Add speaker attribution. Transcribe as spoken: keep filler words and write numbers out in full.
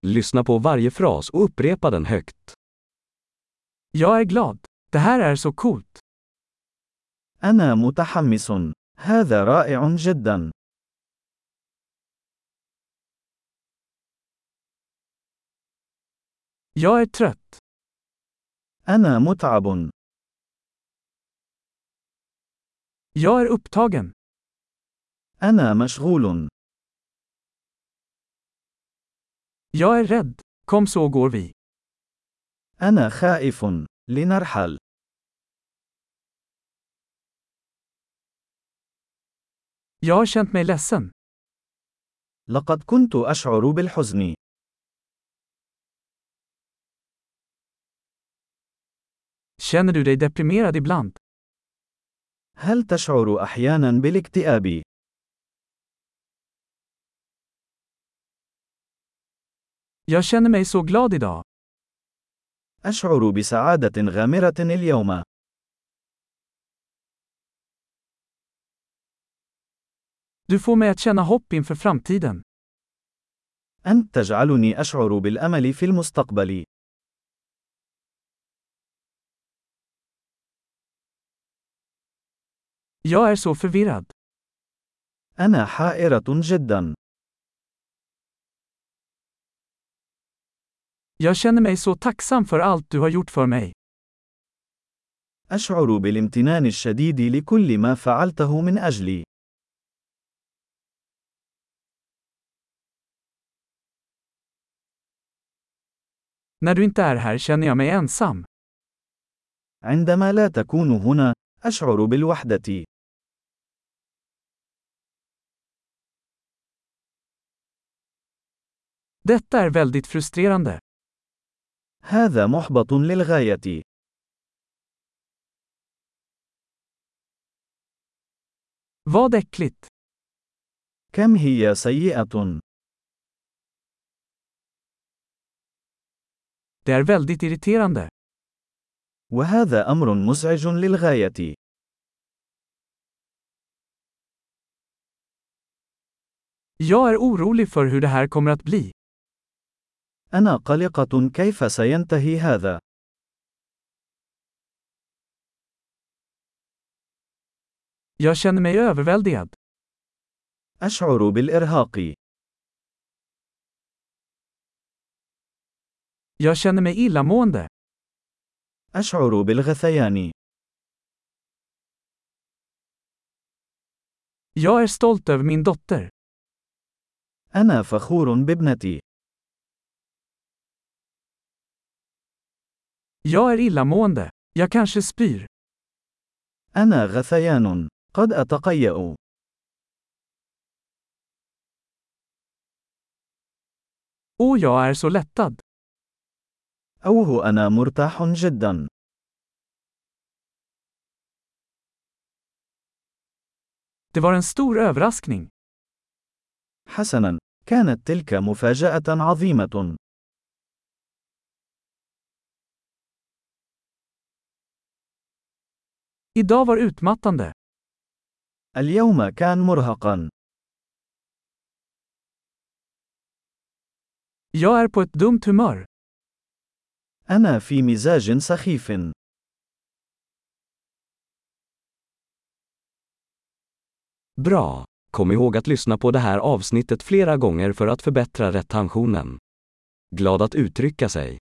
Speaker 1: Lyssna på varje fras och upprepa den högt.
Speaker 2: Jag är glad. Det här är så coolt.
Speaker 3: أنا متحمس. هذا رائع جدا.
Speaker 2: Jag är trött.
Speaker 3: أنا متعب.
Speaker 2: Jag är upptagen.
Speaker 3: أنا مشغول.
Speaker 2: Jag är rädd. Kom så går vi.
Speaker 3: أنا خائف. لنرحل.
Speaker 2: Jag har känt mig ledsen.
Speaker 3: لقد كنت أشعر بالحزن.
Speaker 2: Känner du dig deprimerad ibland?
Speaker 3: هل تشعر أحيانا بالاكتئاب؟
Speaker 2: Jag känner mig så glad idag.
Speaker 3: أشعر بسعادة غامرة اليوم.
Speaker 2: Du får mig att känna hopp inför framtiden.
Speaker 3: أنت تجعلني أشعر بالأمل في المستقبل.
Speaker 2: Jag är så förvirrad.
Speaker 3: أنا حائرة جدا.
Speaker 2: Jag känner mig så tacksam för allt du har gjort för mig.
Speaker 3: أشعر بالامتنان الشديد لكل ما فعلته من أجلي.
Speaker 2: När du inte är här känner jag mig ensam.
Speaker 3: عندما لا تكون هنا، أشعر بالوحدة.
Speaker 2: Detta är väldigt frustrerande.
Speaker 3: هذا محبط للغاية.
Speaker 2: Vad äckligt.
Speaker 3: كم هي سيئة.
Speaker 2: Det är väldigt irriterande.
Speaker 3: وهذا أمر مزعج للغاية.
Speaker 2: Jag är orolig för hur det här kommer att bli.
Speaker 3: أنا قلقة كيف سينتهي هذا.
Speaker 2: Jag känner mig överväldigad.
Speaker 3: أشعر بالإرهاق.
Speaker 2: Jag känner mig illamående.
Speaker 3: أشعر بالغثيان.
Speaker 2: Jag är stolt över min dotter.
Speaker 3: أنا فخور بابنتي.
Speaker 2: Jag är illamående. Jag kanske spyr.
Speaker 3: أنا غثيان. قد أتقيأ.
Speaker 2: Och jag är så lättad.
Speaker 3: أوه أنا مرتاح جدا.
Speaker 2: Det var en stor överraskning.
Speaker 3: حسنا، كانت تلك مفاجأة عظيمة.
Speaker 2: Idag var utmattande.
Speaker 3: اليوم كان مرهقا.
Speaker 2: Jag är på ett dumt humör.
Speaker 3: أنا في مزاج سخيف.
Speaker 1: Bra! Kom ihåg att lyssna på det här avsnittet flera gånger för att förbättra retentionen. Glad att uttrycka sig.